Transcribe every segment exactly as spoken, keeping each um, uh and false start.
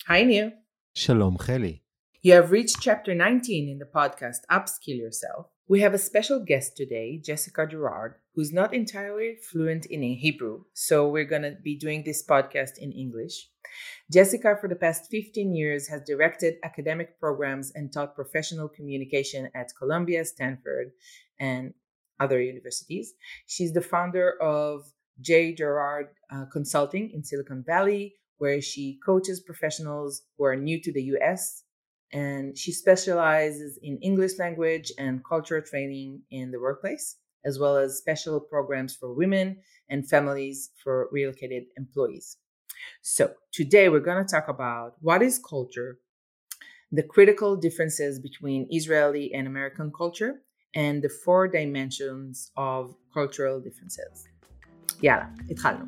Hi, Neil. Shalom, Cheli. You have reached chapter nineteen in the podcast Upskill Yourself. We have a special guest today, Jessica Gerard, who's not entirely fluent in Hebrew, so we're going to be doing this podcast in English. Jessica, for the past fifteen years, has directed academic programs and taught professional communication at Columbia, Stanford, and other universities. She's the founder of J. Gerard uh, Consulting in Silicon Valley, where she coaches professionals who are new to the U S, and she specializes in English language and culture training in the workplace, as well as special programs for women and families for relocated employees. So today we're going to talk about what is culture, the critical differences between Israeli and American culture, and the four dimensions of cultural differences. יאללה, התחלנו.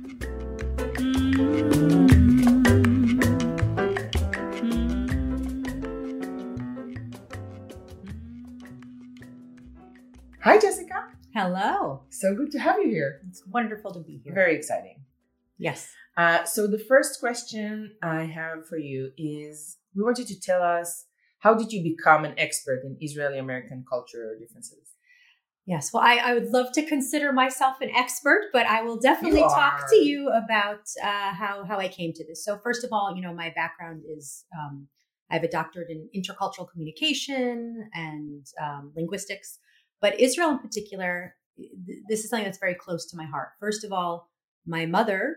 Hi, Jessica. Hello. So good to have you here. It's wonderful to be here. Very exciting. Yes. Uh, so the first question I have for you is, we want you to tell us, how did you become an expert in Israeli-American culture differences? Yes. Well, I, I would love to consider myself an expert, but I will definitely You talk are. to you about uh, how, how I came to this. So first of all, you know, my background is, um, I have a doctorate in intercultural communication and um, linguistics, but Israel in particular, th- this is something that's very close to my heart. First of all, my mother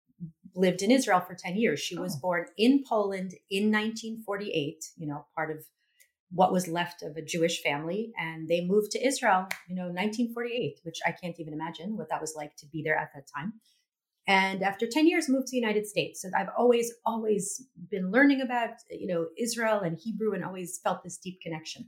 lived in Israel for ten years. She was Oh. born in Poland in nineteen forty-eight, you know, part of what was left of a Jewish family. And they moved to Israel, you know, nineteen forty-eight, which I can't even imagine what that was like to be there at that time. And after ten years, moved to the United States. So I've always, always been learning about, you know, Israel and Hebrew and always felt this deep connection.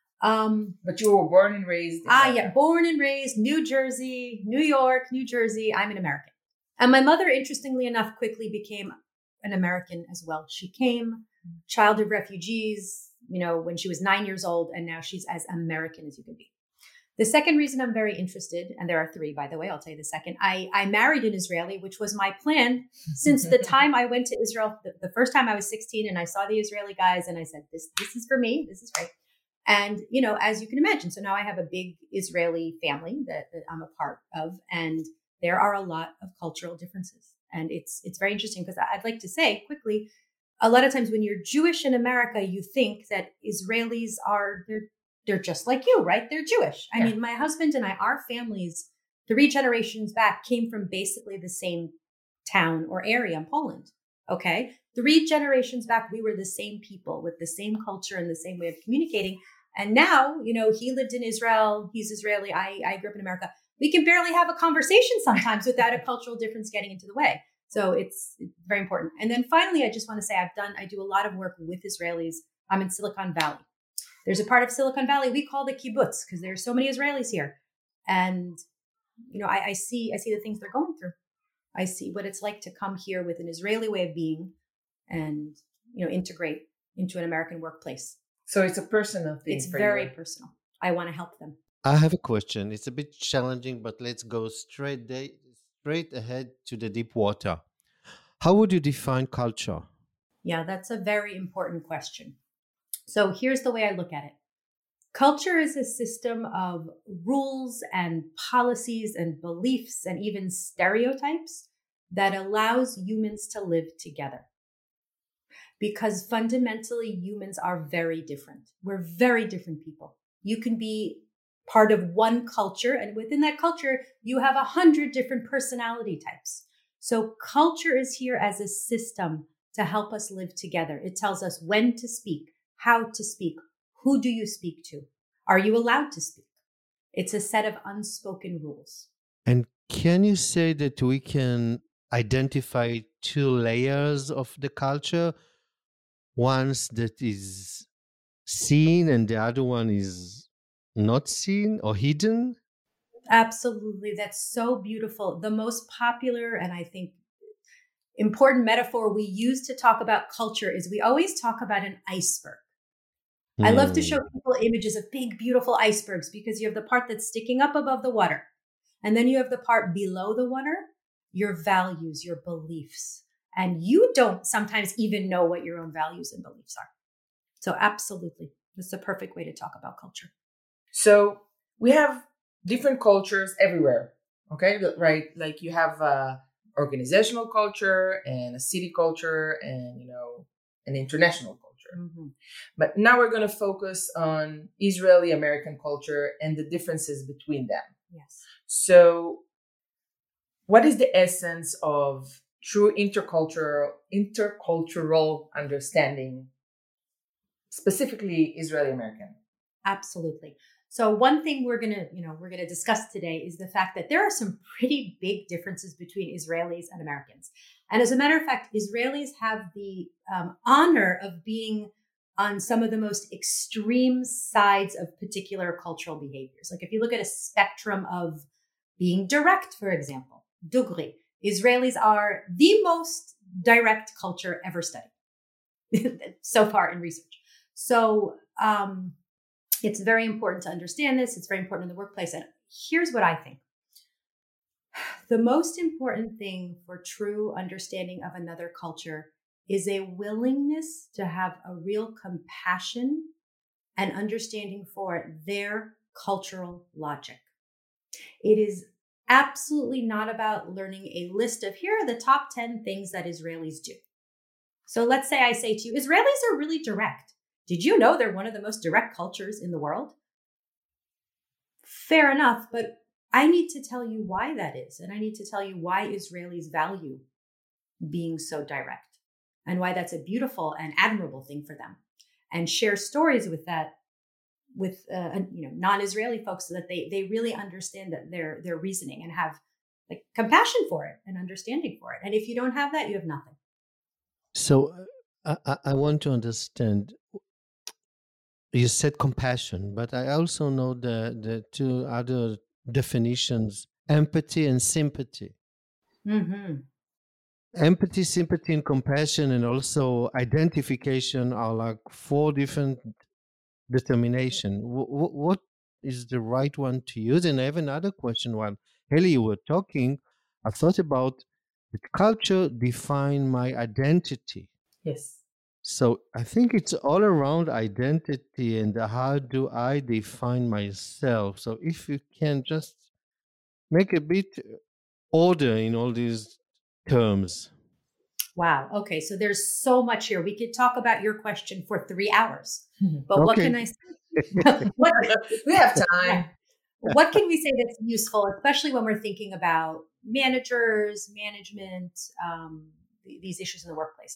Um, But you were born and raised in ah, America. yeah, born and raised, New Jersey, New York, New Jersey. I'm an American. And my mother, interestingly enough, quickly became an American as well. She came, child of refugees, you know, when she was nine years old, and now she's as American as you can be. The second reason I'm very interested, and there are three, by the way, I'll tell you the second. I, I married an Israeli, which was my plan since the time I went to Israel. The, the first time I was sixteen and I saw the Israeli guys and I said, this, this is for me. This is right. And, you know, as you can imagine, so now I have a big Israeli family that, that I'm a part of, and there are a lot of cultural differences. And it's, it's very interesting because I'd like to say quickly, a lot of times when you're Jewish in America, you think that Israelis are, they're, they're just like you, right? They're Jewish. I Yeah. mean, my husband and I, our families, three generations back, came from basically the same town or area in Poland. Okay. Three generations back, we were the same people with the same culture and the same way of communicating. And now, you know, he lived in Israel. He's Israeli. I, I grew up in America. We can barely have a conversation sometimes without a cultural difference getting into the way. So it's very important. And then finally, I just want to say I've done, I do a lot of work with Israelis. I'm in Silicon Valley. There's a part of Silicon Valley we call the kibbutz because there's so many Israelis here. And, you know, I, I see, I see the things they're going through. I see what it's like to come here with an Israeli way of being and, you know, integrate into an American workplace. So it's a personal thing It's for very you. personal. I want to help them. I have a question. It's a bit challenging, but let's go straight da- straight ahead to the deep water. How would you define culture? Yeah, that's a very important question. So here's the way I look at it. Culture is a system of rules and policies and beliefs and even stereotypes that allows humans to live together. Because fundamentally, humans are very different. We're very different people. You can be part of one culture, and within that culture, you have a hundred different personality types. So culture is here as a system to help us live together. It tells us when to speak, how to speak, who do you speak to? Are you allowed to speak? It's a set of unspoken rules. And can you say that we can identify two layers of the culture? One that is seen and the other one is not seen or hidden? Absolutely. That's so beautiful. The most popular and I think important metaphor we use to talk about culture is we always talk about an iceberg. I love to show people images of big, beautiful icebergs because you have the part that's sticking up above the water. And then you have the part below the water, your values, your beliefs. And you don't sometimes even know what your own values and beliefs are. So absolutely, this is a perfect way to talk about culture. So we have different cultures everywhere. Okay, right? Like you have uh, organizational culture and a city culture and, you know, an international culture. Mm-hmm. But now we're going to focus on Israeli American culture and the differences between them. Yes. So what is the essence of true intercultural intercultural understanding, specifically Israeli American? Absolutely. So one thing we're going to, you know, we're going to discuss today is the fact that there are some pretty big differences between Israelis and Americans. And as a matter of fact, Israelis have the um, honor of being on some of the most extreme sides of particular cultural behaviors. Like if you look at a spectrum of being direct, for example, Dugri, Israelis are the most direct culture ever studied so far in research. So, um, it's very important to understand this. It's very important in the workplace. And here's what I think. The most important thing for true understanding of another culture is a willingness to have a real compassion and understanding for their cultural logic. It is absolutely not about learning a list of here are the top ten things that Israelis do. So let's say I say to you, Israelis are really direct. Did you know they're one of the most direct cultures in the world? Fair enough, but I need to tell you why that is. And I need to tell you why Israelis value being so direct and why that's a beautiful and admirable thing for them, and share stories with that, with uh, you know non-Israeli folks, so that they they really understand that their their reasoning and have like compassion for it and understanding for it. And if you don't have that, you have nothing. So uh, I, I want to understand. You said compassion, but I also know the, the two other definitions, empathy and sympathy. Mm-hmm. Empathy, sympathy, and compassion, and also identification are like four different determination. W- w- what is the right one to use? And I have another question. While Heli, you were talking, I thought about the culture define my identity. Yes. So I think it's all around identity and how do I define myself. So if you can just make a bit order in all these terms. Wow. Okay. So there's so much here. We could talk about your question for three hours. But Okay. what can I say? what, we have time. What can we say that's useful, especially when we're thinking about managers, management, um, these issues in the workplace?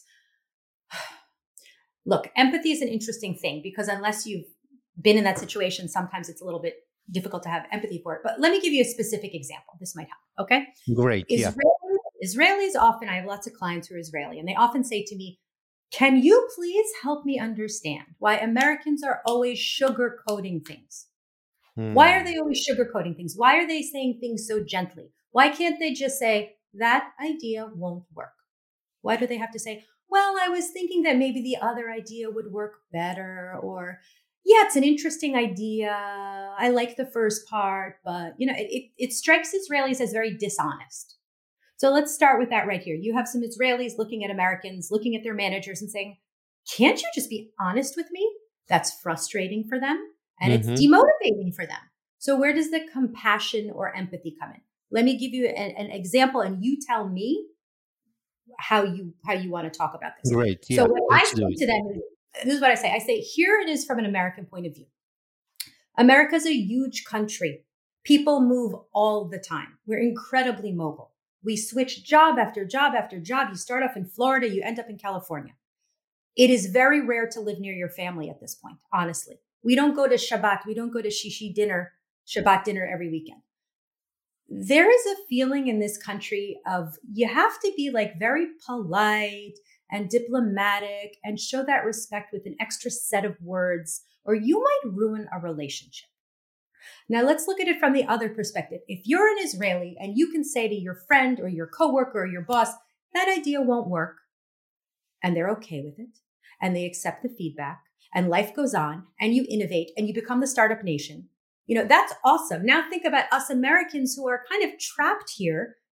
Look, empathy is an interesting thing because unless you've been in that situation, sometimes it's a little bit difficult to have empathy for it. But let me give you a specific example. This might help. Okay. Great. Israelis, yeah. Israelis often, I have lots of clients who are Israeli, and they often say to me, can you please help me understand why Americans are always sugarcoating things? Hmm. Why are they always sugarcoating things? Why are they saying things so gently? Why can't they just say, that idea won't work? Why do they have to say, well, I was thinking that maybe the other idea would work better, or yeah, it's an interesting idea. I like the first part, but you know, it, it, it strikes Israelis as very dishonest. So let's start with that right here. You have some Israelis looking at Americans, looking at their managers and saying, can't you just be honest with me? That's frustrating for them and mm-hmm. it's demotivating for them. So where does the compassion or empathy come in? Let me give you an, an example and you tell me how you how you want to talk about this. Great. Yeah, so what I say to them is, this is what I say. I say, here it is from an American point of view. America's a huge country. People move all the time. We're incredibly mobile. We switch job after job after job. You start off in Florida, you end up in California. It is very rare to live near your family at this point, honestly. We don't go to Shabbat. We don't go to Shishi dinner, Shabbat dinner every weekend. There is a feeling in this country of you have to be like very polite and diplomatic and show that respect with an extra set of words, or you might ruin a relationship. Now let's look at it from the other perspective. If you're an Israeli and you can say to your friend or your coworker or your boss, that idea won't work, and they're okay with it, and they accept the feedback, and life goes on, and you innovate, and you become the startup nation, you know, that's awesome. Now think about us Americans who are kind of trapped here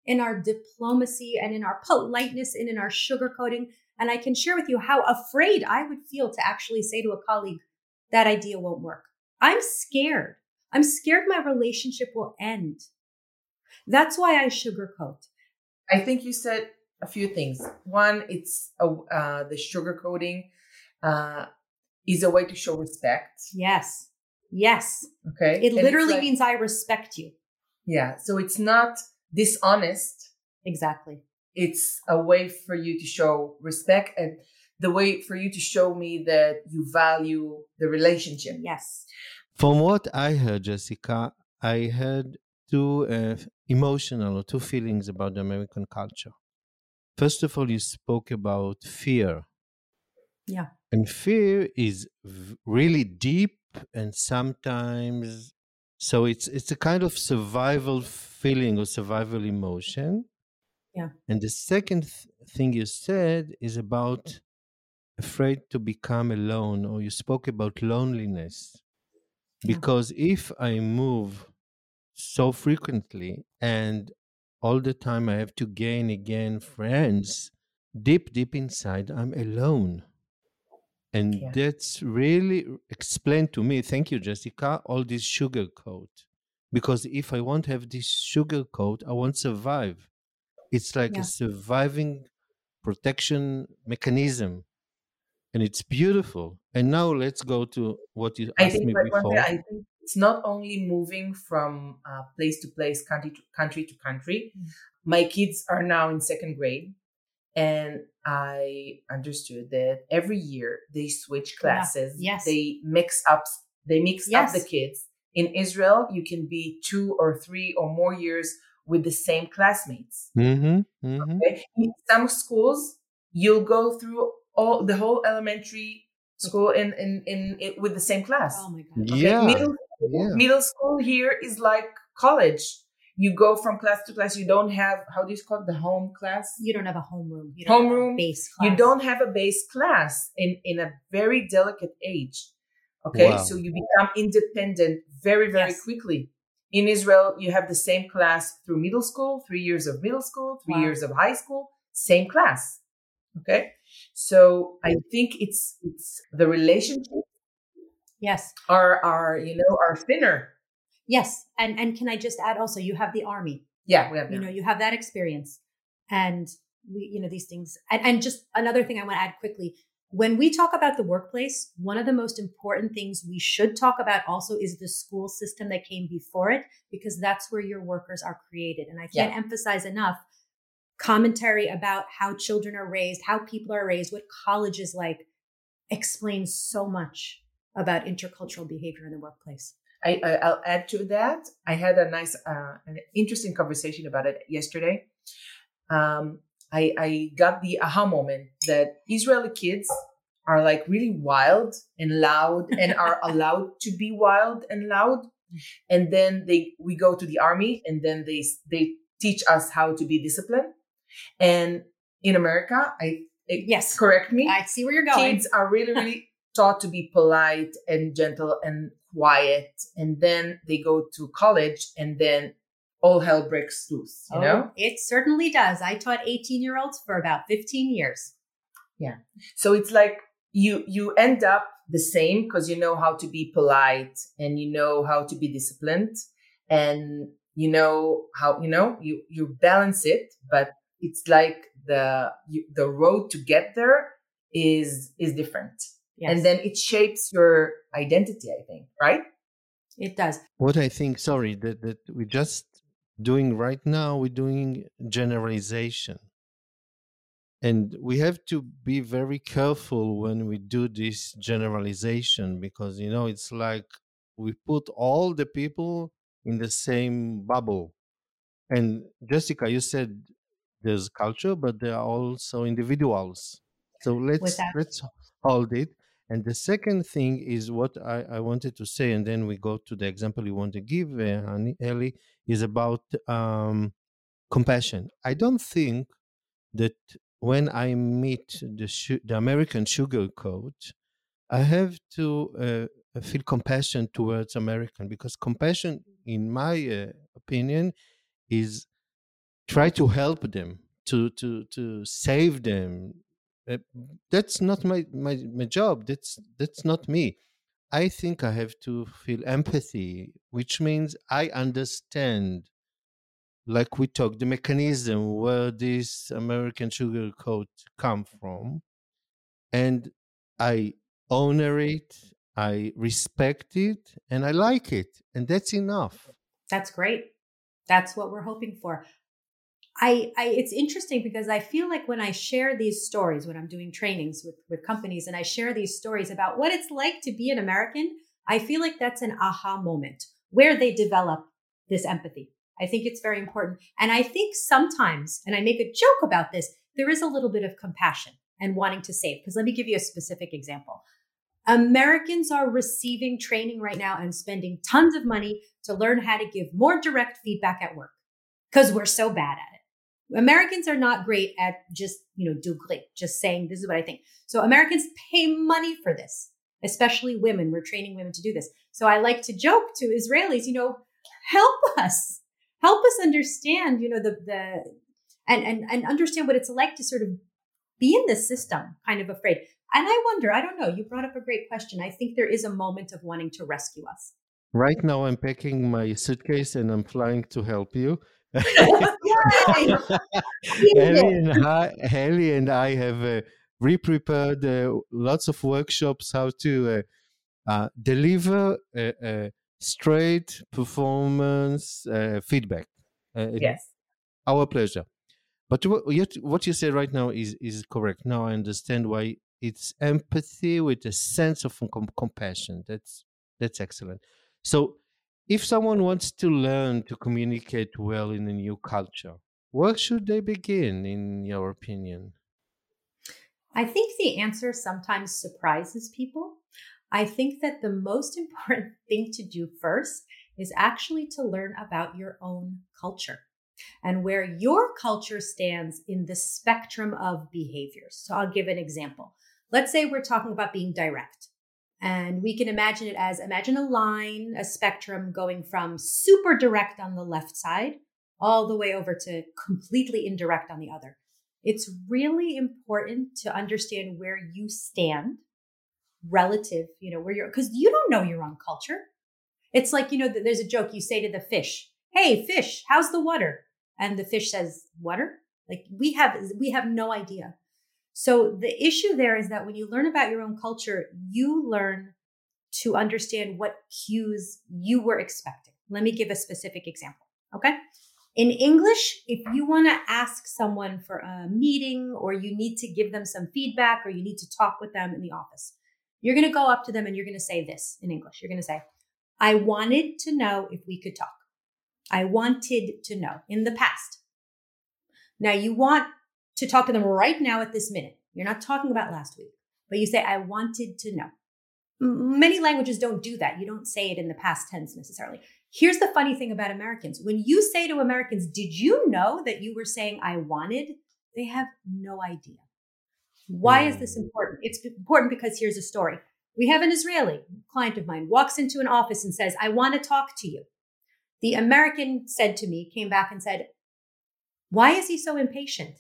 in our diplomacy and in our politeness and in our sugarcoating. And I can share with you how afraid I would feel to actually say to a colleague, that idea won't work. I'm scared. I'm scared my relationship will end. That's why I sugarcoat. I think you said a few things. One, it's a, uh, the sugarcoating uh, is a way to show respect. Yes. Yes. Okay. It And literally it's like- means I respect you. Yeah. So it's not dishonest. Exactly. It's a way for you to show respect and the way for you to show me that you value the relationship. Yes. From what I heard, Jessica, I heard two uh, emotional or two feelings about the American culture. First of all, you spoke about fear. Yeah. And fear is v- really deep and sometimes, so it's it's a kind of survival feeling or survival emotion. Yeah. And the second th- thing you said is about afraid to become alone, or you spoke about loneliness. Yeah. Because if I move so frequently and all the time I have to gain again friends, deep, deep inside, I'm alone. And Yeah. that's really explained to me, thank you, Jessica, all this sugar coat. Because if I won't have this sugar coat, I won't survive. It's like Yeah. a surviving protection mechanism. And it's beautiful. And now let's go to what you I asked think, me but one thing, before. I think it's not only moving from uh, place to place, country to country to country. Mm. My kids are now in second grade, and I understood that every year they switch classes. Yes. They mix up. They mix Yes. up the kids. In Israel, you can be two or three or more years with the same classmates. Mm-hmm, mm-hmm. Okay? In some schools, you'll go through all the whole elementary school in in, in, in with the same class. Oh my God. Okay? Yeah. Middle, Yeah. middle school here is like college. You go from class to class. You don't have, how do you call it, the home class? You don't have a homeroom. You don't have a Homeroom. base class. You don't have a base class in, in a very delicate age. Okay, Wow. so you become independent very, very Yes. quickly. In Israel, you have the same class through middle school, three years of middle school, three Wow. years of high school, same class. Okay, so I think it's it's the relationships Yes. are are you know are thinner. Yes. And and can I just add also, you have the army. Yeah, we have You that. know, you have that experience. And we, you know, these things. And, and just another thing I want to add quickly. When we talk about the workplace, one of the most important things we should talk about also is the school system that came before it, because that's where your workers are created. And I can't Yeah. emphasize enough commentary about how children are raised, how people are raised, what college is like, explains so much about intercultural behavior in the workplace. I, I I'll add to that. I had a nice, uh, an interesting conversation about it yesterday. Um, I I got the aha moment that Israeli kids are like really wild and loud and are allowed to be wild and loud. And then they we go to the army and then they they teach us how to be disciplined. And in America, I it, Yes. correct me. I see where you're going. Kids are really, really taught to be polite and gentle and quiet. And then they go to college and then all hell breaks loose, you Oh, know? it certainly does. I taught eighteen year olds for about fifteen years. So it's like you you end up the same because you know how to be polite and you know how to be disciplined and you know how, you know, you, you balance it, but it's like the you, the road to get there is is different. Yes. And then it shapes your identity, I think, right? It does. What I think, sorry, that, that we're just doing right now, we're doing generalization. And we have to be very careful when we do this generalization because, you know, it's like we put all the people in the same bubble. And Jessica, you said there's culture, but there are also individuals. So let's Without- let's hold it. And the second thing is what I, I wanted to say, and then we go to the example you want to give, uh, Hani- Eli, is about um, compassion. I don't think that when I meet the su- the American sugar coat, I have to uh, feel compassion towards American because compassion, in my uh, opinion, is try to help them, to to to save them. Uh, that's not my, my my job. That's that's not me. I think I have to feel empathy, which means I understand, like we talked, the mechanism where this American sugar coat come from, and I honor it, I respect it, and I like it, and that's enough. That's great. That's what we're hoping for. I, I it's interesting because I feel like when I share these stories, when I'm doing trainings with, with companies and I share these stories about what it's like to be an American, I feel like that's an aha moment where they develop this empathy. I think it's very important. And I think sometimes, and I make a joke about this, there is a little bit of compassion and wanting to save. Because let me give you a specific example. Americans are receiving training right now and spending tons of money to learn how to give more direct feedback at work because we're so bad at it. Americans are not great at just, you know, do great, just saying, this is what I think. So Americans pay money for this, especially women. We're training women to do this. So I like to joke to Israelis, you know, help us, help us understand, you know, the, the, and, and, and understand what it's like to sort of be in this system, kind of afraid. And I wonder, I don't know, you brought up a great question. I think there is a moment of wanting to rescue us. Right now, I'm packing my suitcase and I'm flying to help you. Yay! Ellie and I, Ellie and I have uh, re-prepared uh, lots of workshops how to uh, uh, deliver uh, uh, straight performance uh, feedback. Uh, Yes. Our pleasure. But what, yet, what you say right now is, is correct. Now I understand why it's empathy with a sense of com- compassion. That's that's excellent. So, if someone wants to learn to communicate well in a new culture, where should they begin, in your opinion? I think the answer sometimes surprises people. I think that the most important thing to do first is actually to learn about your own culture and where your culture stands in the spectrum of behaviors. So I'll give an example. Let's say we're talking about being direct. And we can imagine it as, imagine a line, a spectrum going from super direct on the left side, all the way over to completely indirect on the other. It's really important to understand where you stand relative, you know, where you're, because you don't know your own culture. It's like, you know, there's a joke you say to the fish, hey, fish, how's the water? And the fish says, water? Like we have, we have no idea. So the issue there is that when you learn about your own culture, you learn to understand what cues you were expecting. Let me give a specific example. Okay. In English, if you want to ask someone for a meeting or you need to give them some feedback or you need to talk with them in the office, you're going to go up to them and you're going to say this in English. You're going to say, I wanted to know if we could talk. I wanted to know in the past. Now you want to talk to them right now at this minute. You're not talking about last week, but you say, I wanted to know. Many languages don't do that. You don't say it in the past tense necessarily. Here's the funny thing about Americans. When you say to Americans, did you know that you were saying I wanted? They have no idea. Why is this important? It's important because here's a story. We have an Israeli client of mine walks into an office and says, I want to talk to you. The American said to me, came back and said, why is he so impatient?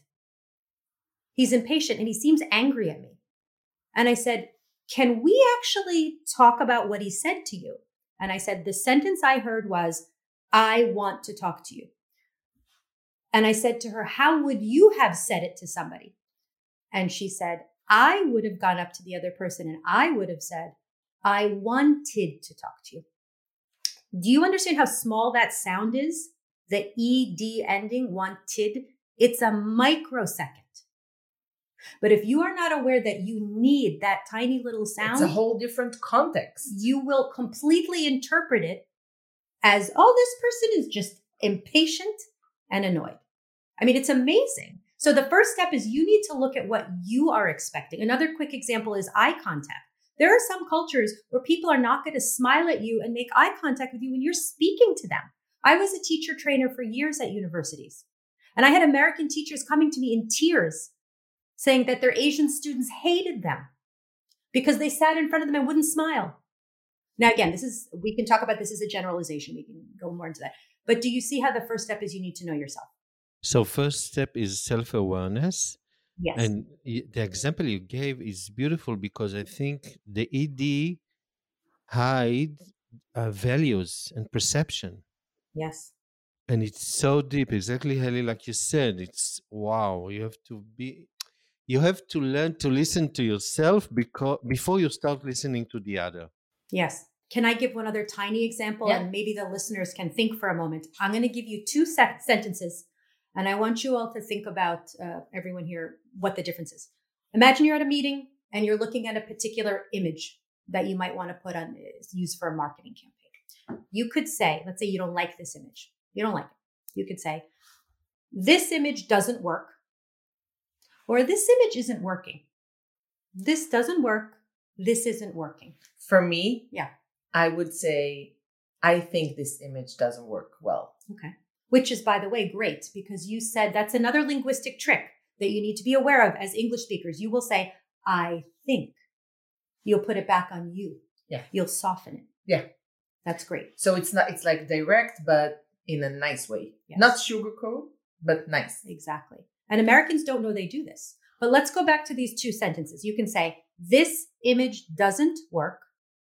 He's impatient and he seems angry at me. And I said, can we actually talk about what he said to you? And I said, the sentence I heard was, I want to talk to you. And I said to her, how would you have said it to somebody? And she said, I would have gone up to the other person and I would have said, I wanted to talk to you. Do you understand how small that sound is? The E D ending, wanted, it's a microsecond. But if you are not aware that you need that tiny little sound, it's a whole different context. You will completely interpret it as, oh, this person is just impatient and annoyed. I mean, it's amazing. So the first step is you need to look at what you are expecting. Another quick example is eye contact. There are some cultures where people are not going to smile at you and make eye contact with you when you're speaking to them. I was a teacher trainer for years at universities, and I had American teachers coming to me in tears saying that their Asian students hated them because they sat in front of them and wouldn't smile. Now, again, this is, we can talk about this as a generalization. We can go more into that. But do you see how the first step is you need to know yourself? So first step is self-awareness. Yes. And y- the example you gave is beautiful because I think the E D hide uh, values and perception. Yes. And it's so deep, exactly, Heli, like you said. It's wow. You have to be, you have to learn to listen to yourself because before you start listening to the other. Yes. Can I give one other tiny example? Yeah. And maybe the listeners can think for a moment. I'm going to give you two se- sentences, and I want you all to think about, uh, everyone here, what the difference is. Imagine you're at a meeting and you're looking at a particular image that you might want to put on, use for a marketing campaign. You could say, let's say you don't like this image. You don't like it. You could say, this image doesn't work, or this image isn't working. This doesn't work. This isn't working. For me, Yeah. I would say, I think this image doesn't work well. Okay. Which is, by the way, great, because you said that's another linguistic trick that you need to be aware of as English speakers. You will say, I think. You'll put it back on you. Yeah. You'll soften it. Yeah. That's great. So it's not, it's like direct, but in a nice way. Yes. Not sugarcoat, but nice. Exactly. And Americans don't know they do this. But let's go back to these two sentences. You can say, this image doesn't work,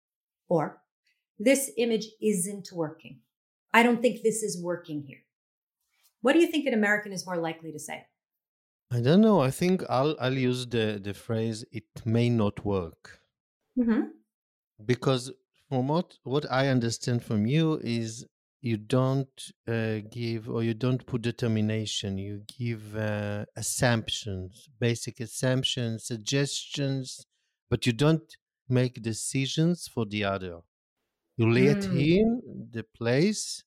or this image isn't working. I don't think this is working here. What do you think an American is more likely to say? I don't know. I think I'll I'll use the the phrase "it may not work" Mm-hmm. because from what what I understand from you is you don't uh, give or you don't put determination. You give uh, assumptions, basic assumptions, suggestions, but you don't make decisions for the other. You let Mm. him the place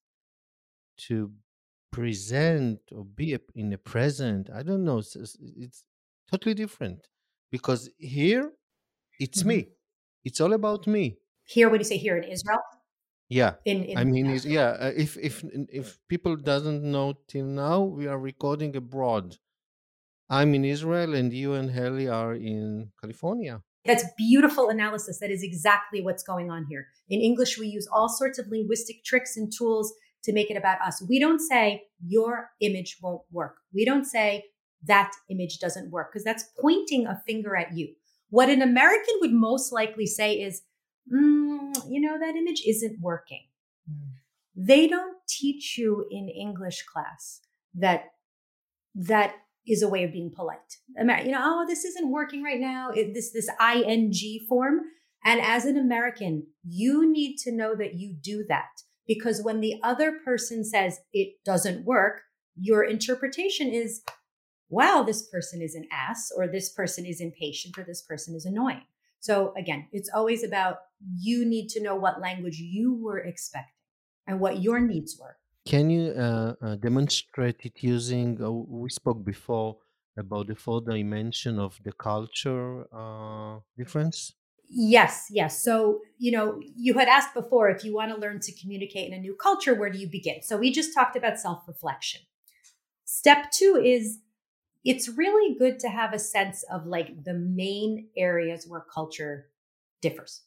to present or be a, in the present. I don't know. It's, it's it's totally different because here it's Mhm. me. It's all about me. Here, what do you say here in Israel? Yeah. In, in I mean, it's, yeah. Uh, if if if people doesn't know till now, we are recording abroad. I'm in Israel, and you and Heli are in California. That's beautiful analysis. That is exactly what's going on here. In English, we use all sorts of linguistic tricks and tools to make it about us. We don't say your image won't work. We don't say that image doesn't work, because that's pointing a finger at you. What an American would most likely say is, mm, you know, that image isn't working. Mm. They don't teach you in English class that that is a way of being polite. You know, oh, this isn't working right now. It, this this ing form. And as an American, you need to know that you do that, because when the other person says it doesn't work, your interpretation is, wow, this person is an ass, or this person is impatient, or this person is annoying. So again, it's always about, you need to know what language you were expecting and what your needs were. Can you uh, uh, demonstrate it using? Uh, we spoke before about the four dimension of the culture uh, difference. Yes, yes. So, you know, you had asked before, if you want to learn to communicate in a new culture, where do you begin? So we just talked about self-reflection. Step two is, it's really good to have a sense of like the main areas where culture differs.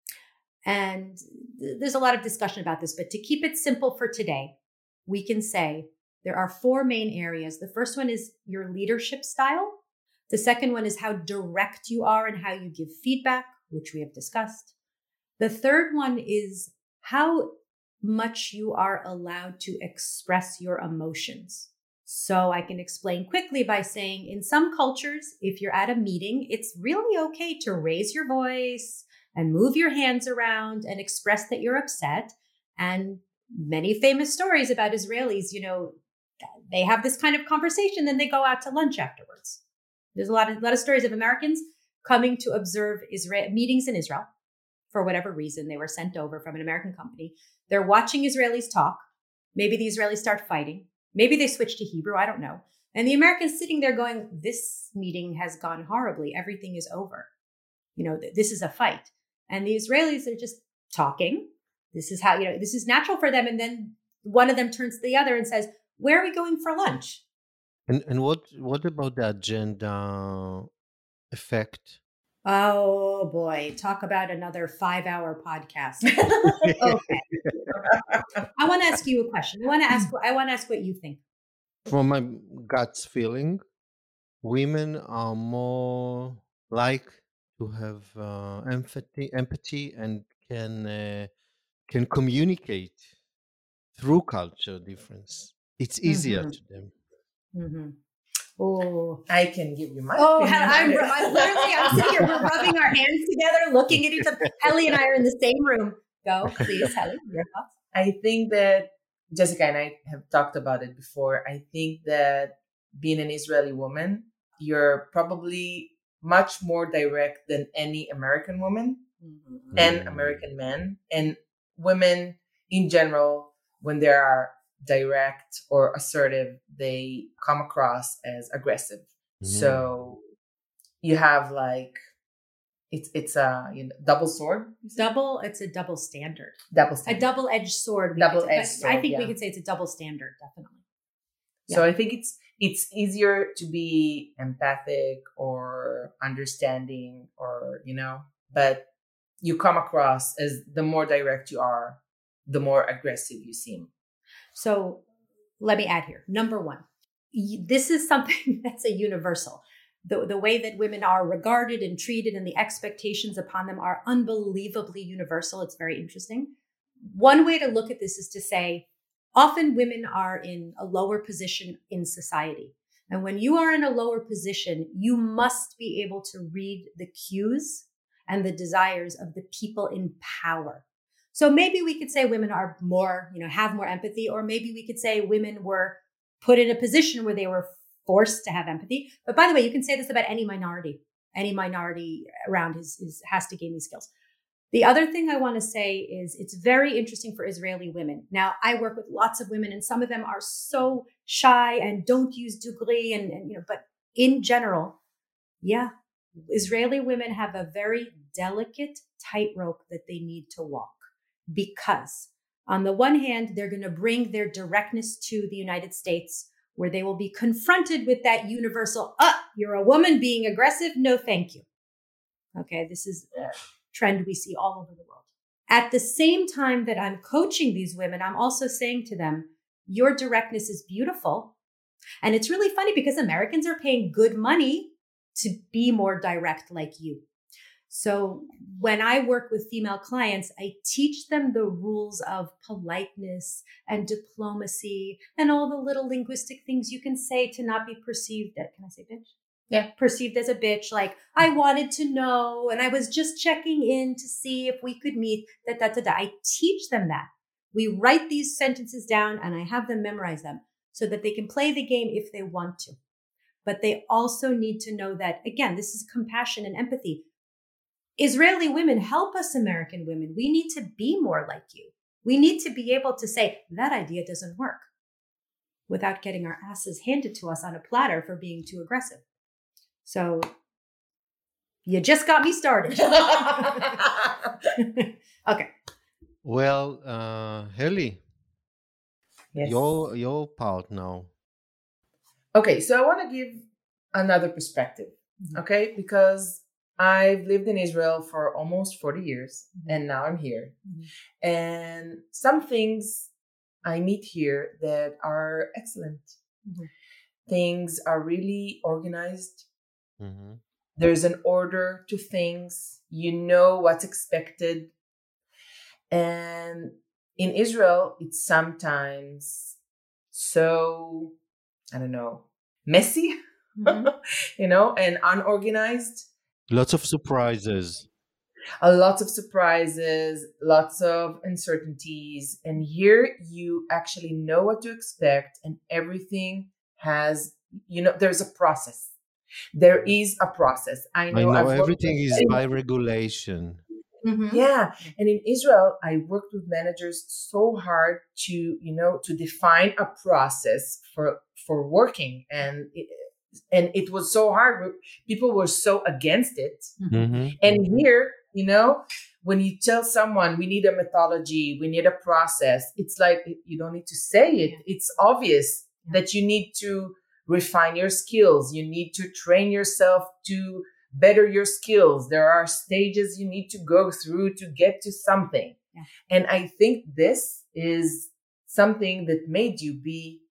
And th- there's a lot of discussion about this, but to keep it simple for today, we can say there are four main areas. The first one is your leadership style. The second one is how direct you are and how you give feedback, which we have discussed. The third one is how much you are allowed to express your emotions. So I can explain quickly by saying, in some cultures, if you're at a meeting, it's really okay to raise your voice and move your hands around and express that you're upset. And many famous stories about Israelis, you know, they have this kind of conversation, then they go out to lunch afterwards. There's a lot of, a lot of stories of Americans coming to observe Israel meetings in Israel for whatever reason. They were sent over from an American company. They're watching Israelis talk. Maybe the Israelis start fighting. Maybe they switch to Hebrew. I don't know. And the Americans sitting there going, this meeting has gone horribly. Everything is over. You know, th- this is a fight. And the Israelis are just talking. This is how, you know, this is natural for them. And then one of them turns to the other and says, where are we going for lunch? And and what what about the agenda effect? Oh boy, talk about another five hour podcast. Okay. I want to ask you a question. I want to ask, I want to ask what you think. From my gut's feeling, women are more like to have uh, empathy, empathy, and can uh, can communicate through culture difference. It's easier Mm-hmm. to them. Mm-hmm. Oh, I can give you my oh, opinion. I'm, I'm literally, I'm sitting here, we're rubbing our hands together, looking at each other. Helly and I are in the same room. Go, please, Helly, your thoughts? I think that Jessica and I have talked about it before. I think that being an Israeli woman, you're probably much more direct than any American woman Mm-hmm. and Mm. American men. And women in general, when they are direct or assertive, they come across as aggressive. Mm. So you have like, it's it's a you know, double sword. Double, it's a double standard. Double A standard. double-edged sword. we Double could say, edged but I sword, think we yeah. could say it's a double standard, definitely. So Yeah. I think it's it's easier to be empathic or understanding or, you know, but you come across as the more direct you are, the more aggressive you seem. So let me add here. Number one, y- this is something that's a universal. The, the way that women are regarded and treated and the expectations upon them are unbelievably universal. It's very interesting. One way to look at this is to say, often women are in a lower position in society. And when you are in a lower position, you must be able to read the cues and the desires of the people in power. So maybe we could say women are more, you know, have more empathy, or maybe we could say women were put in a position where they were forced to have empathy. But by the way, you can say this about any minority. Any minority around is, is has to gain these skills. The other thing I want to say is it's very interesting for Israeli women. Now, I work with lots of women, and some of them are so shy and don't use dugri, and, and you know, but in general, yeah, Israeli women have a very delicate tightrope that they need to walk, because on the one hand, they're going to bring their directness to the United States, where they will be confronted with that universal, uh, you're a woman being aggressive. No, thank you. Okay. This is a trend we see all over the world. At the same time that I'm coaching these women, I'm also saying to them, your directness is beautiful. And it's really funny because Americans are paying good money to be more direct like you. So when I work with female clients, I teach them the rules of politeness and diplomacy and all the little linguistic things you can say to not be perceived as, can I say bitch? Yeah. Perceived as a bitch. Like, I wanted to know, and I was just checking in to see if we could meet, da, da, da, da. I teach them that. We write these sentences down and I have them memorize them so that they can play the game if they want to. But they also need to know that, again, this is compassion and empathy. Israeli women help us American women. We need to be more like you. We need to be able to say that idea doesn't work without getting our asses handed to us on a platter for being too aggressive. So you just got me started. Okay. Well, uh, Helly, Yes. your your part now. Okay, so I want to give another perspective, okay? Because I've lived in Israel for almost forty years, Mhm. and now I'm here. Mhm. And some things I meet here that are excellent. Mhm. Things are really organized. Mhm. There's an order to things. You know what's expected. And in Israel, it's sometimes so, I don't know, messy, Mhm. you know, and unorganized. Lots of surprises. A lot of surprises, lots of uncertainties. And here you actually know what to expect, and everything has, you know, there's a process. There is a process. I I know, know I've worked everything with is many- by regulation. Mhm. Yeah. And in Israel, I worked with managers so hard to, you know, to define a process for, for working. And it, and it was so hard. People were so against it. Mhm. And here, you know, when you tell someone we need a methodology, we need a process, it's like you don't need to say it. Yeah. It's obvious Yeah. that you need to refine your skills. You need to train yourself to better your skills. There are stages you need to go through to get to something. Yeah. And I think this is something that made you be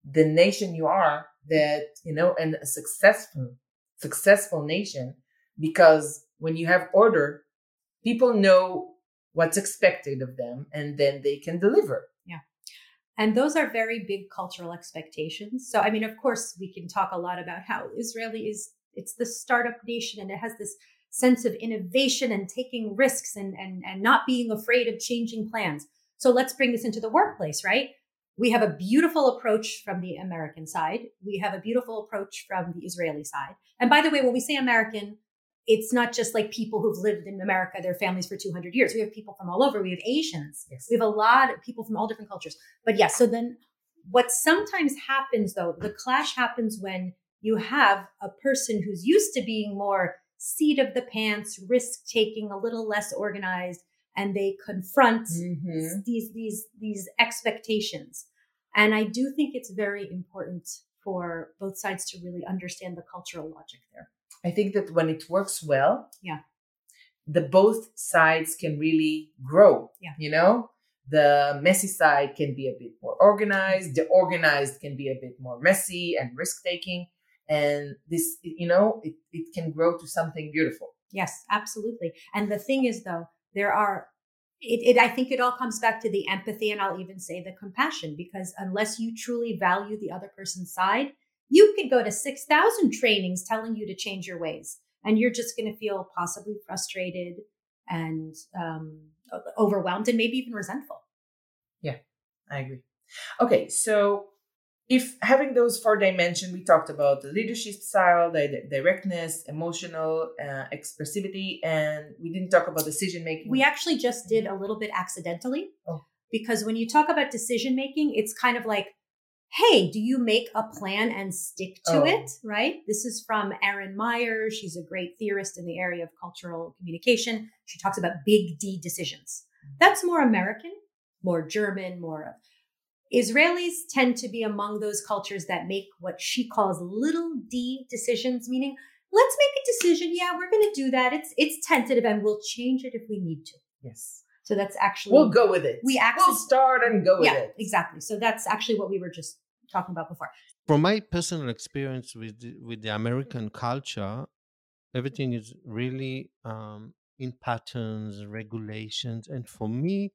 the nation you are, that, you know, and a successful, successful nation, because when you have order, people know what's expected of them, and then they can deliver. Yeah. And those are very big cultural expectations. So, I mean, of course, we can talk a lot about how Israeli is, it's the startup nation, and it has this sense of innovation and taking risks and, and, and not being afraid of changing plans. So let's bring this into the workplace, right? We have a beautiful approach from the American side. We have a beautiful approach from the Israeli side. And by the way, when we say American, it's not just like people who've lived in America, their families for two hundred years. We have people from all over. We have Asians. Yes. We have a lot of people from all different cultures. But yes, so then what sometimes happens though, the clash happens when you have a person who's used to being more seat of the pants, risk taking, a little less organized, and they confront mm-hmm. these, these, these expectations. And I do think it's very important for both sides to really understand the cultural logic there. I think that when it works well, yeah, the both sides can really grow. Yeah. You know, the messy side can be a bit more organized. The organized can be a bit more messy and risk taking. And this, you know, it, it can grow to something beautiful. Yes, absolutely. And the thing is, though, there are, it, it, I think it all comes back to the empathy, and I'll even say the compassion, because unless you truly value the other person's side, you could go to six thousand trainings telling you to change your ways, and you're just going to feel possibly frustrated and um, overwhelmed and maybe even resentful. Yeah, I agree. Okay, so if having those four dimensions, we talked about the leadership style, the directness, emotional uh, expressivity, and we didn't talk about decision making. We actually just did a little bit accidentally, oh. because when you talk about decision making, it's kind of like, hey, do you make a plan and stick to oh. it, right? This is from Erin Meyer. She's a great theorist in the area of cultural communication. She talks about big D decisions. That's more American, more German, more... Israelis tend to be among those cultures that make what she calls little d decisions, meaning let's make a decision. Yeah, we're going to do that. It's it's tentative, and we'll change it if we need to. Yes. So that's actually... We'll go with it. We actually, we'll start and go with yeah, it. Exactly. So that's actually what we were just talking about before. From my personal experience with the, with the American culture, everything is really um, in patterns, regulations, and for me,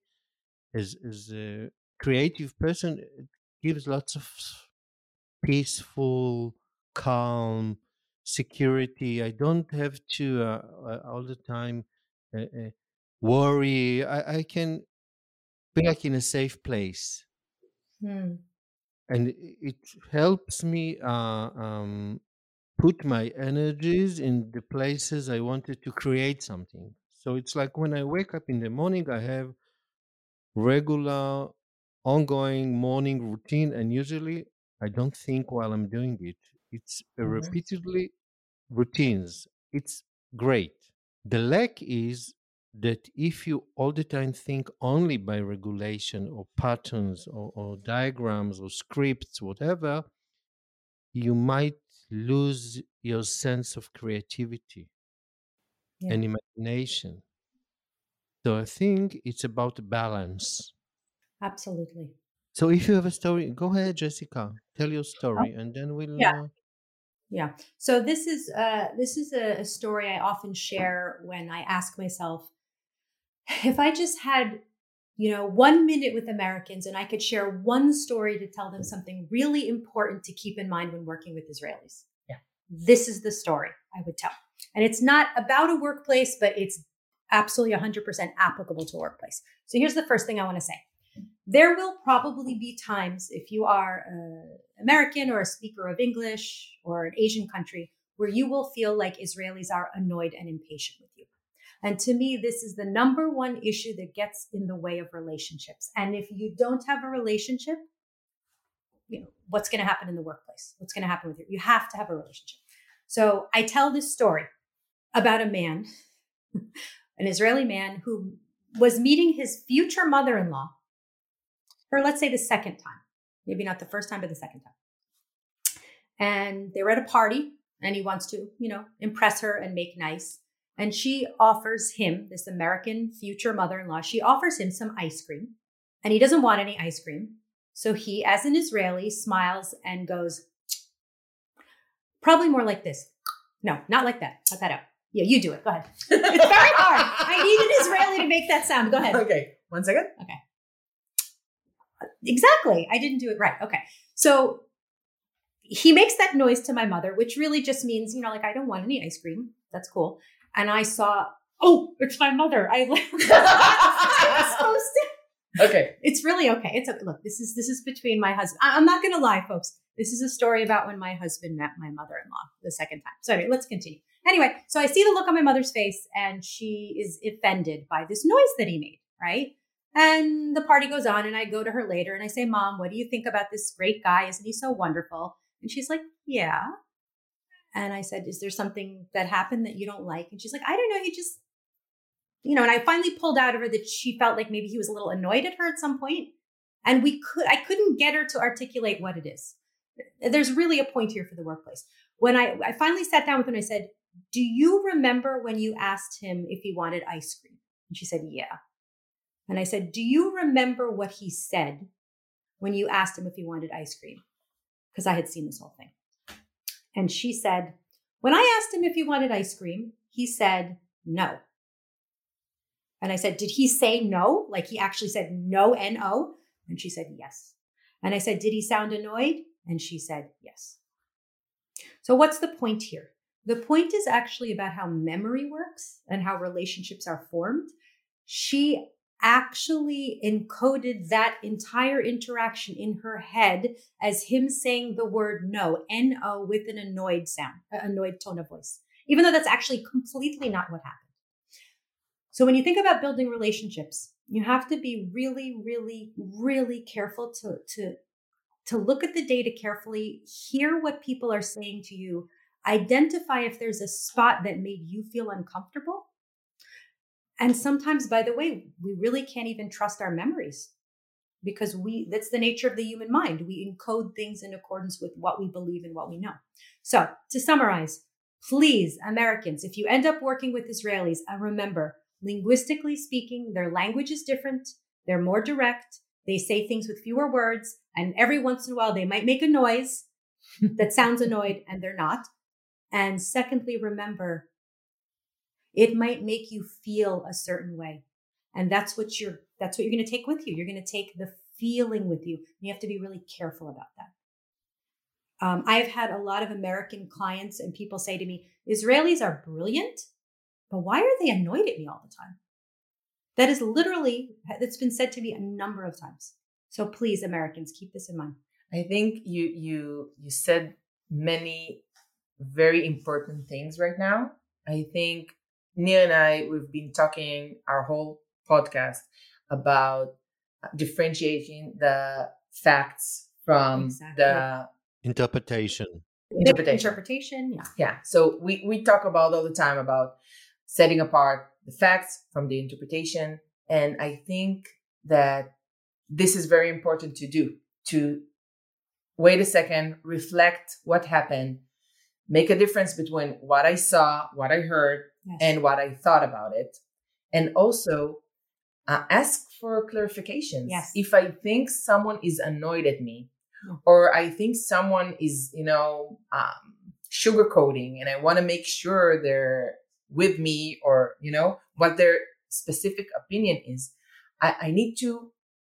as as a creative person, it gives lots of peaceful, calm, security. I don't have to uh, all the time uh, uh, worry. I, I can be like in a safe place. Hmm. And it helps me uh, um, put my energies in the places I wanted to create something. So it's like when I wake up in the morning, I have regular, ongoing morning routine, and usually I don't think while I'm doing it. It's mm-hmm. repeatedly routines. It's great. The lack is that if you all the time think only by regulation or patterns or, or diagrams or scripts, whatever, you might lose your sense of creativity yeah. and imagination. So I think it's about balance. Absolutely. So if you have a story, go ahead, Jessica, tell your story, oh. and then we'll... Yeah. Uh... Yeah. So this is uh, this is a, a story I often share when I ask myself, if I just had, you know, one minute with Americans and I could share one story to tell them something really important to keep in mind when working with Israelis. Yeah. This is the story I would tell. And it's not about a workplace, but it's absolutely one hundred percent applicable to a workplace. So here's the first thing I want to say. There will probably be times, if you are an American or a speaker of English or an Asian country, where you will feel like Israelis are annoyed and impatient with you. And to me, this is the number one issue that gets in the way of relationships. And if you don't have a relationship, you know, what's going to happen in the workplace? What's going to happen with you? You have to have a relationship. So I tell this story about a man, an Israeli man who was meeting his future mother-in-law for, let's say, the second time, maybe not the first time, but the second time. And they were at a party and he wants to, you know, impress her and make nice. And she offers him, this American future mother-in-law, she offers him some ice cream, and he doesn't want any ice cream. So he, as an Israeli, smiles and goes, probably more like this. No, not like that. Cut that out. Yeah, you do it. Go ahead. It's very hard. I need an Israeli to make that sound. Go ahead. Okay, one second. Okay. Exactly. I didn't do it right. Okay. So he makes that noise to my mother, which really just means, you know, like, I don't want any ice cream. That's cool. And I saw, oh, it's my mother. I was supposed to. Okay. It's really okay. It's okay. Look, this is, this is between my husband. I- I'm not going to lie, folks. This is a story about when my husband met my mother-in-law the second time. So anyway, let's continue. Anyway, so I see the look on my mother's face and she is offended by this noise that he made, right? And the party goes on and I go to her later and I say, Mom, what do you think about this great guy? Isn't he so wonderful? And she's like, yeah. And I said, is there something that happened that you don't like? And she's like, I don't know. He just, you know, and I finally pulled out of her that she felt like maybe he was a little annoyed at her at some point. And we could, I couldn't get her to articulate what it is. There's really a point here for the workplace. When I, I finally sat down with her and I said, do you remember when you asked him if he wanted ice cream? And she said, yeah. And I said, do you remember what he said when you asked him if he wanted ice cream? Because I had seen this whole thing. And she said, when I asked him if he wanted ice cream, he said no. And I said, did he say no? Like he actually said no, N O? And she said, yes. And I said, did he sound annoyed? And she said, yes. So what's the point here? The point is actually about how memory works and how relationships are formed. She actually encoded that entire interaction in her head as him saying the word no, N O, with an annoyed sound, annoyed tone of voice, even though that's actually completely not what happened. So when you think about building relationships, you have to be really, really, really careful to, to, to look at the data carefully, hear what people are saying to you, identify if there's a spot that made you feel uncomfortable. And sometimes, by the way, we really can't even trust our memories because we, that's the nature of the human mind. We encode things in accordance with what we believe and what we know. So to summarize, please, Americans, if you end up working with Israelis, uh, remember, linguistically speaking, their language is different. They're more direct. They say things with fewer words. And every once in a while, they might make a noise that sounds annoyed and they're not. And secondly, remember, it might make you feel a certain way. And that's what you're, that's what you're going to take with you. You're going to take the feeling with you. You have to be really careful about that. Um, I've had a lot of American clients and people say to me, Israelis are brilliant, but why are they annoyed at me all the time? That is literally, that's been said to me a number of times. So please, Americans, keep this in mind. I think you, you, you said many very important things right now. I think Nir and I, we've been talking our whole podcast about differentiating the facts from Exactly. the Interpretation. interpretation. Interpretation, yeah. Yeah. So we, we talk about all the time about setting apart the facts from the interpretation. And I think that this is very important to do, to wait a second, reflect what happened, make a difference between what I saw, what I heard, Yes. and what I thought about it. And also uh, ask for clarifications. Yes. If I think someone is annoyed at me, Yeah. or I think someone is, you know, um, sugarcoating and I want to make sure they're with me or, you know, what their specific opinion is, I, I need to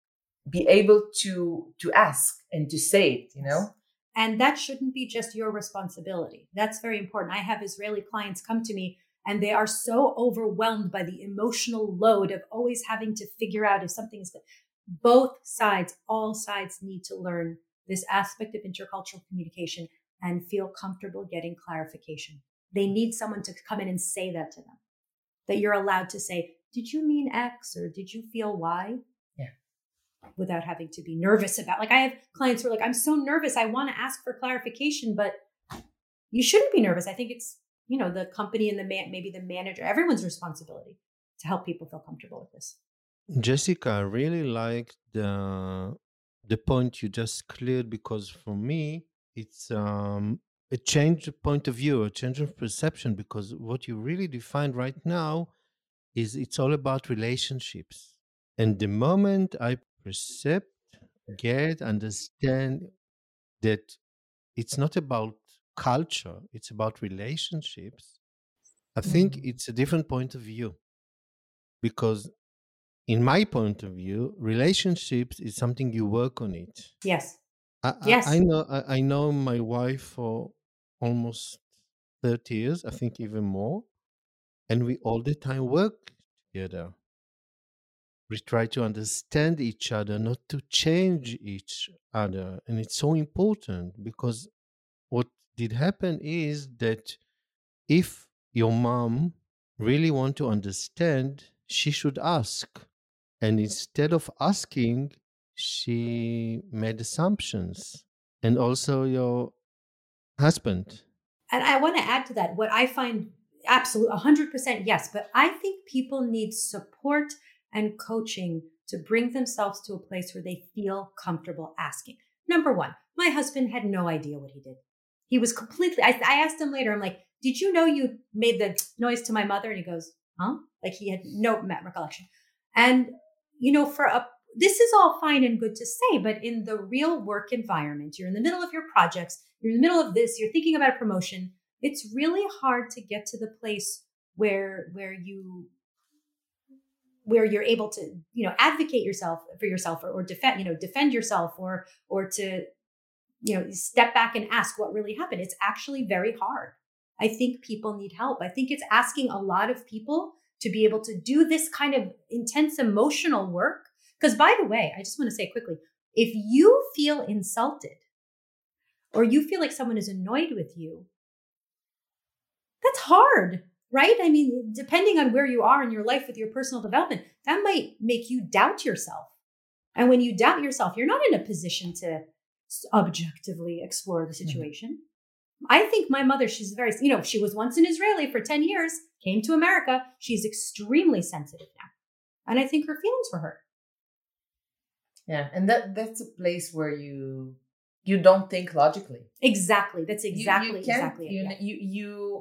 be able to, to ask and to say it, you know? And that shouldn't be just your responsibility. That's very important. I have Israeli clients come to me and they are so overwhelmed by the emotional load of always having to figure out if something is good. Both sides, all sides need to learn this aspect of intercultural communication and feel comfortable getting clarification. They need someone to come in and say that to them, that you're allowed to say, did you mean X or did you feel Y? Yeah. Without having to be nervous about, like I have clients who are like, I'm so nervous. I want to ask for clarification, but you shouldn't be nervous. I think it's, you know, the company and the man, maybe the manager, everyone's responsibility to help people feel comfortable with this. Jessica, I really like the the point you just cleared because for me it's um a change of point of view, a change of perception, because what you really defined right now is it's all about relationships. And the moment I percept get, understand that it's not about culture, it's about relationships, I think Mhm. it's a different point of view. Because in my point of view, relationships is something you work on it. Yes. I, I, I Yes. know I, I know my wife for almost thirty years, I think even more, and we all the time work together. We try to understand each other, not to change each other. And it's so important because what did happen is that if your mom really want to understand, she should ask. And instead of asking, she made assumptions. And also your husband. And I want to add to that what I find absolute one hundred percent yes, but I think people need support and coaching to bring themselves to a place where they feel comfortable asking. Number one, my husband had no idea what he did. He was completely, I, I asked him later, I'm like, did you know you made the noise to my mother? And he goes, huh? Like he had no recollection. And, you know, for a, this is all fine and good to say, but in the real work environment, you're in the middle of your projects, you're in the middle of this, you're thinking about a promotion. It's really hard to get to the place where, where you, where you're able to, you know, advocate yourself for yourself or, or defend, you know, defend yourself or, or to, you know, step back and ask what really happened. It's actually very hard. I think people need help. I think it's asking a lot of people to be able to do this kind of intense emotional work. Because by the way, I just want to say quickly, if you feel insulted or you feel like someone is annoyed with you, that's hard, right? I mean, depending on where you are in your life with your personal development, that might make you doubt yourself. And when you doubt yourself, you're not in a position to objectively explore the situation. Mm-hmm. I think my mother, she's very, you know, she was once an Israeli for ten years, came to America. She's extremely sensitive now. And I think her feelings were hurt. Yeah. And that that's a place where you you don't think logically. Exactly. That's exactly, you, you exactly it. You, yeah. you, you,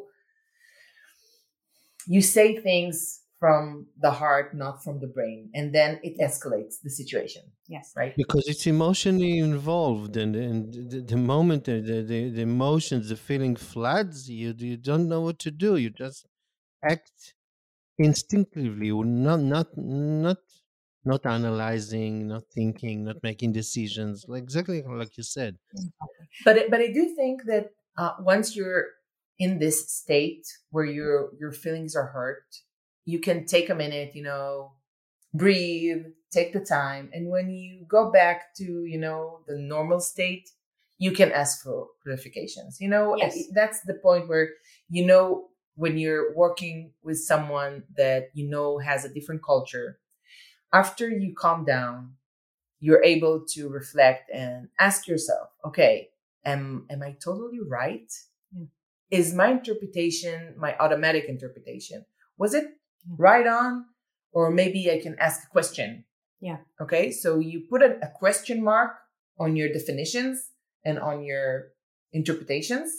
you say things from the heart, not from the brain. And then it escalates the situation. Yes. Right. Because it's emotionally involved. And, and the, the moment the, the, the emotions, the feeling floods you, you don't know what to do. You just act instinctively, not, not, not, not analyzing, not thinking, not making decisions, like exactly like you said. But it, but I do think that uh, once you're in this state where your your feelings are hurt, you can take a minute, you know, breathe, take the time, and when you go back to, you know, the normal state, you can ask for clarifications. You know, yes. That's the point where, you know, when you're working with someone that you know has a different culture, after you calm down, you're able to reflect and ask yourself, okay, am, am I totally right? Yeah. Is my interpretation, my automatic interpretation, was it yeah. right on? Or maybe I can ask a question. Yeah. Okay. So you put a, a question mark on your definitions and on your interpretations.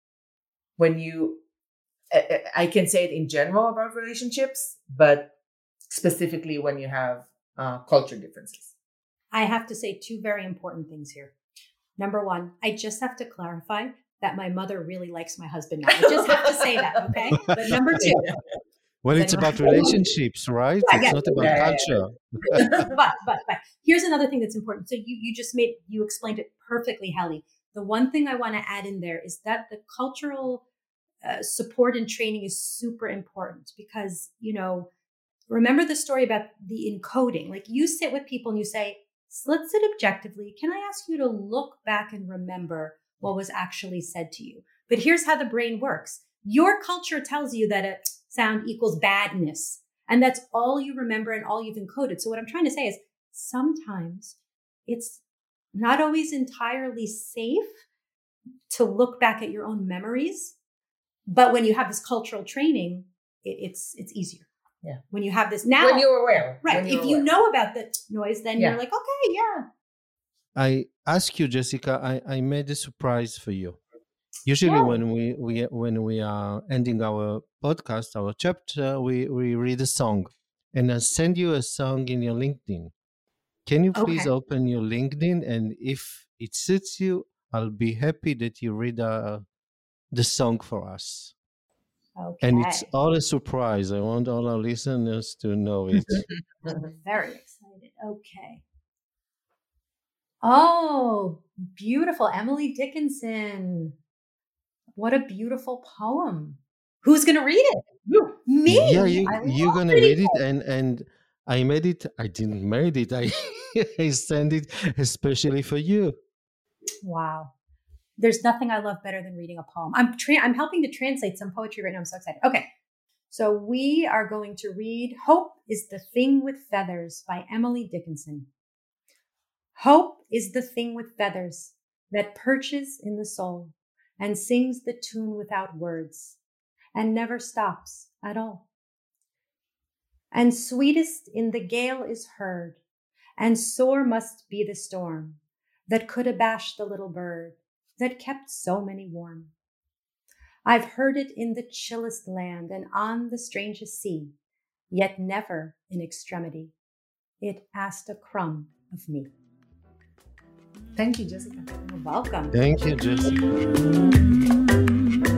When you, I, I can say it in general about relationships, but specifically when you have uh, culture differences. I have to say two very important things here. Number one, I just have to clarify that my mother really likes my husband now. I just have to say that, okay? But number two. Well, it's about relationships, right? Yeah, it's yeah, not about yeah, culture. Yeah, yeah. but, but, but here's another thing that's important. So you, you just made, you explained it perfectly, Heli. The one thing I want to add in there is that the cultural uh, support and training is super important because, you know, remember the story about the encoding. Like you sit with people and you say, let's sit objectively. Can I ask you to look back and remember what was actually said to you? But here's how the brain works. Your culture tells you that a sound equals badness. And that's all you remember and all you've encoded. So what I'm trying to say is sometimes it's not always entirely safe to look back at your own memories. But when you have this cultural training, it, it's it's easier. Yeah. When you have this now. When you're aware. Right. You're if you aware. know about the noise, then yeah. you're like, okay, yeah. I ask you, Jessica, I, I made a surprise for you. Usually yeah. when we, we when we are ending our podcast, our chapter, we, we read a song. And I send you a song in your LinkedIn. Can you please Okay. open your LinkedIn? And if it suits you, I'll be happy that you read uh, the song for us. Okay. And it's all a surprise. I want all our listeners to know it. I'm very excited. Okay. Oh, beautiful. Emily Dickinson. What a beautiful poem. Who's going to read it? You. Me. Yeah, you, I you're love gonna reading read it, poems. and and I made it. I didn't made it. I I sent it especially for you. Wow. There's nothing I love better than reading a poem. I'm tra- I'm helping to translate some poetry right now. I'm so excited. Okay. So we are going to read Hope is the Thing with Feathers by Emily Dickinson. Hope is the thing with feathers that perches in the soul and sings the tune without words and never stops at all. And sweetest in the gale is heard, and sore must be the storm that could abash the little bird that kept so many warm. I've heard it in the chillest land and on the strangest sea, yet never in extremity. It asked a crumb of me. Thank you, Jessica. You're welcome. Thank you, Jessica.